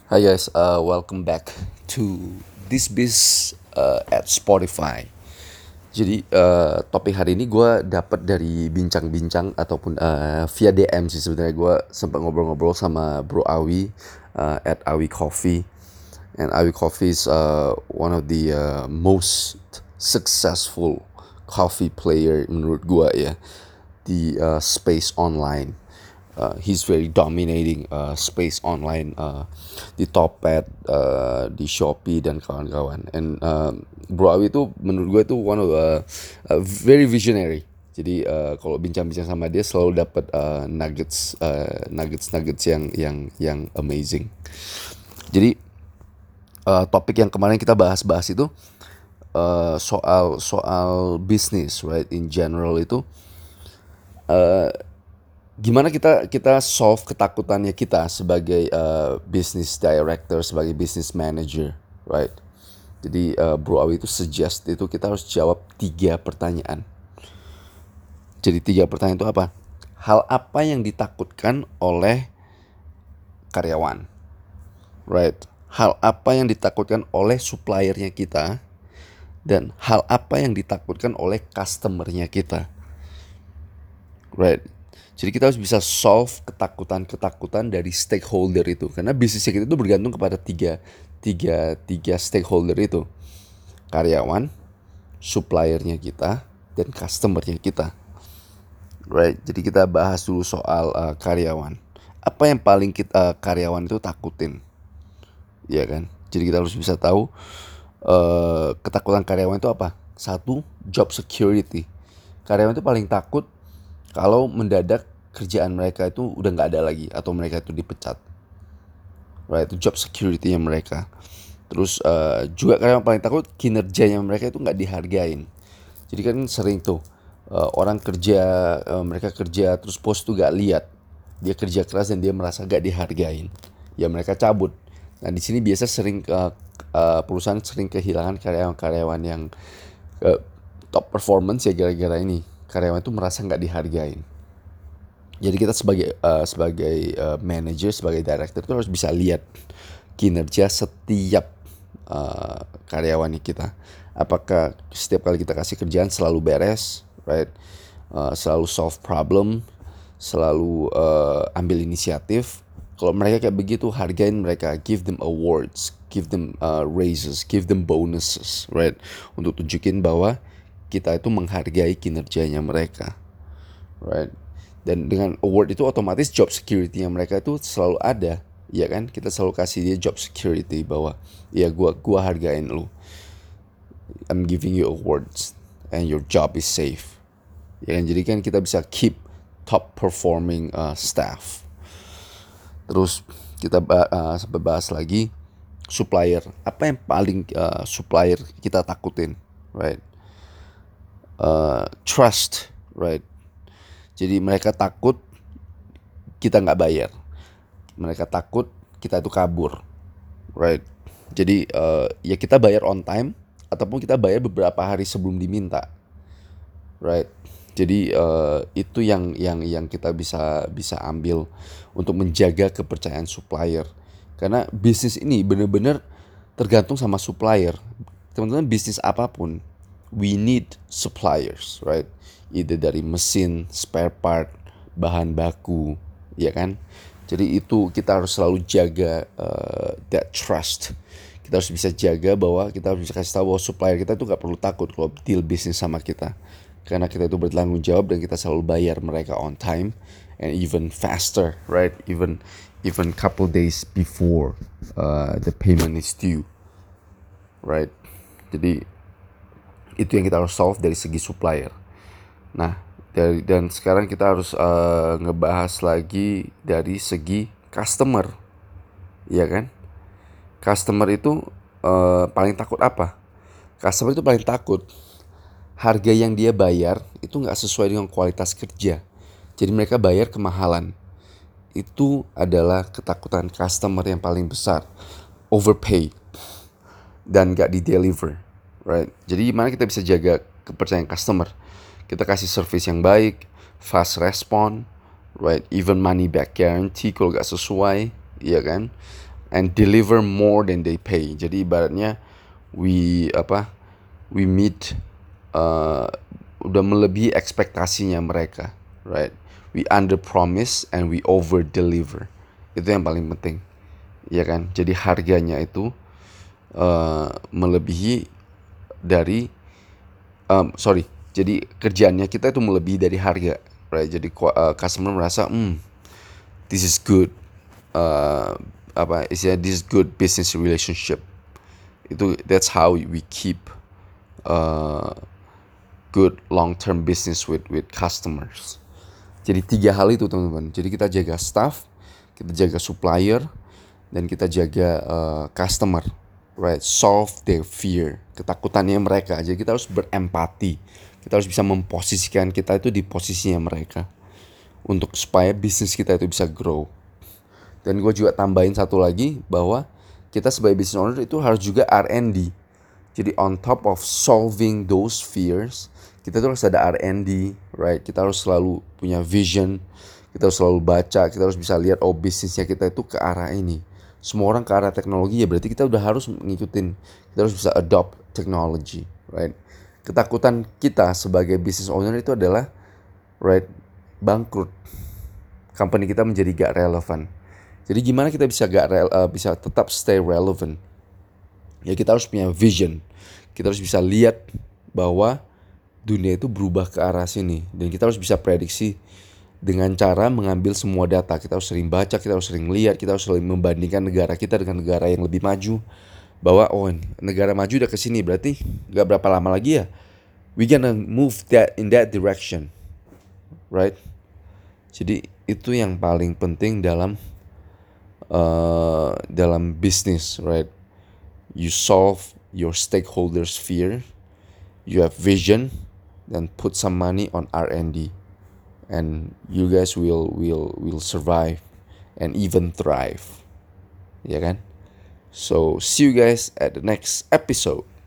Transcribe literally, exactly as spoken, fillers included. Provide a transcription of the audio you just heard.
Hi guys, uh, welcome back to This Biz uh, at Spotify. Jadi uh, topik hari ini gue dapat dari bincang-bincang ataupun uh, via D M sih sebenarnya. Gue sempat ngobrol-ngobrol sama Bro Awi uh, at Awi Coffee, and Awi Coffee is uh, one of the uh, most successful coffee player menurut gue ya di uh, space online. Uh, he's very dominating uh, space online uh, di Topet, uh, di Shopee dan kawan-kawan. And uh, Bro Awi itu menurut gue itu one of uh, uh, very visionary. Jadi uh, kalau bincang-bincang sama dia selalu dapat uh, nuggets, uh, nuggets, nuggets yang yang yang amazing. Jadi uh, topik yang kemarin kita bahas-bahas itu uh, soal soal bisnis, right? In general itu gimana kita kita solve ketakutannya kita sebagai uh, business director, sebagai business manager, right? Jadi uh, Bro Awi itu suggest itu kita harus jawab tiga pertanyaan. Jadi tiga pertanyaan itu apa? Hal apa yang ditakutkan oleh karyawan, right? Hal apa yang ditakutkan oleh suppliernya kita, dan hal apa yang ditakutkan oleh customernya kita, right? Jadi kita harus bisa solve ketakutan-ketakutan dari stakeholder itu, karena bisnisnya kita itu bergantung kepada tiga, tiga, tiga stakeholder itu: karyawan, suppliernya kita, dan customernya kita. Right? Jadi kita bahas dulu soal uh, karyawan. Apa yang paling kita uh, karyawan itu takutin, ya kan? Jadi kita harus bisa tahu uh, ketakutan karyawan itu apa. Satu, job security. Karyawan itu paling takut kalau mendadak kerjaan mereka itu udah nggak ada lagi atau mereka itu dipecat, right? Itu job security-nya mereka. Terus uh, juga karyawan paling takut kinerjanya mereka itu nggak dihargain. Jadi kan sering tuh uh, orang kerja, uh, mereka kerja terus bos tuh nggak lihat dia kerja keras dan dia merasa nggak dihargain, ya mereka cabut. Nah di sini biasa sering uh, uh, perusahaan sering kehilangan karyawan-karyawan yang uh, top performance ya gara-gara ini karyawan itu merasa nggak dihargain. Jadi kita sebagai uh, sebagai uh, manager, sebagai director itu harus bisa lihat kinerja setiap uh, karyawan kita. Apakah setiap kali kita kasih kerjaan selalu beres, right? Uh, selalu solve problem, selalu uh, ambil inisiatif. Kalau mereka kayak begitu, hargain mereka, give them awards, give them uh, raises, give them bonuses, right? Untuk tunjukin bahwa kita itu menghargai kinerjanya mereka, right? Dan dengan award itu otomatis job security-nya mereka itu selalu ada, ya kan? Kita selalu kasih dia job security bahwa ya gua gua hargain lu, I'm giving you awards and your job is safe, ya kan? Jadi kan kita bisa keep top performing uh, staff. Terus kita uh, bahas lagi supplier. Apa yang paling uh, supplier kita takutin, right? Uh, trust, right? Jadi mereka takut kita nggak bayar, mereka takut kita itu kabur, right? Jadi uh, ya kita bayar on time ataupun kita bayar beberapa hari sebelum diminta, right? Jadi uh, itu yang yang yang kita bisa bisa ambil untuk menjaga kepercayaan supplier, karena bisnis ini benar-benar tergantung sama supplier. Teman-teman, bisnis apapun we need suppliers, right? Either dari mesin, spare part, bahan baku, ya kan? Jadi itu kita harus selalu jaga uh, that trust. Kita harus bisa jaga bahwa kita harus bisa kasih tahu bahwa supplier kita itu gak perlu takut kalau deal bisnis sama kita, karena kita itu bertanggung jawab dan kita selalu bayar mereka on time and even faster, right? Even even couple days before uh, the payment is due, right? Jadi itu yang kita harus solve dari segi supplier. Nah, dari, dan sekarang kita harus uh, ngebahas lagi dari segi customer, ya kan? Customer itu uh, paling takut apa? Customer itu paling takut harga yang dia bayar itu nggak sesuai dengan kualitas kerja. Jadi mereka bayar kemahalan. Itu adalah ketakutan customer yang paling besar. Overpay dan nggak di-deliver, right? Jadi gimana kita bisa jaga kepercayaan customer? Kita kasih service yang baik, fast respon, right? Even money back guarantee kalau gak sesuai, iya kan? and deliver more than they pay. Jadi ibaratnya we apa we meet uh, udah melebihi ekspektasinya mereka, right? We under promise and we over deliver. Itu yang paling penting, ya kan? Jadi harganya itu uh, melebihi dari um, sorry. Jadi kerjaannya kita itu melebihi dari harga, right? Jadi uh, customer merasa, hmm, this is good, uh, apa istilahnya, this is good business relationship. Itu that's how we keep uh, good long term business with with customers. Jadi tiga hal itu teman-teman. Jadi kita jaga staff, kita jaga supplier, dan kita jaga uh, customer, right? Solve their fear, ketakutannya mereka. Jadi kita harus berempati. Kita harus bisa memposisikan kita itu di posisinya mereka untuk supaya bisnis kita itu bisa grow. Dan gue juga tambahin satu lagi bahwa kita sebagai business owner itu harus juga R and D. Jadi on top of solving those fears, kita tuh harus ada R and D, right? Kita harus selalu punya vision, kita harus selalu baca, kita harus bisa lihat oh bisnisnya kita itu ke arah ini. Semua orang ke arah teknologi, ya berarti kita udah harus ngikutin, kita harus bisa adopt technology, right? Ketakutan kita sebagai business owner itu adalah, right, bangkrut. Company kita menjadi gak relevan. Jadi gimana kita bisa gak rel, uh, bisa tetap stay relevant? Ya kita harus punya vision. Kita harus bisa lihat bahwa dunia itu berubah ke arah sini, dan kita harus bisa prediksi dengan cara mengambil semua data. Kita harus sering baca, kita harus sering lihat, kita harus sering membandingkan negara kita dengan negara yang lebih maju. Bahwa oh negara maju udah kesini, berarti gak berapa lama lagi ya we gonna move that in that direction, right? Jadi itu yang paling penting dalam uh, dalam bisnis, right? You solve your stakeholders' fear, you have vision, then put some money on R and D, and you guys will will will survive and even thrive, ya kan? So see you guys at the next episode.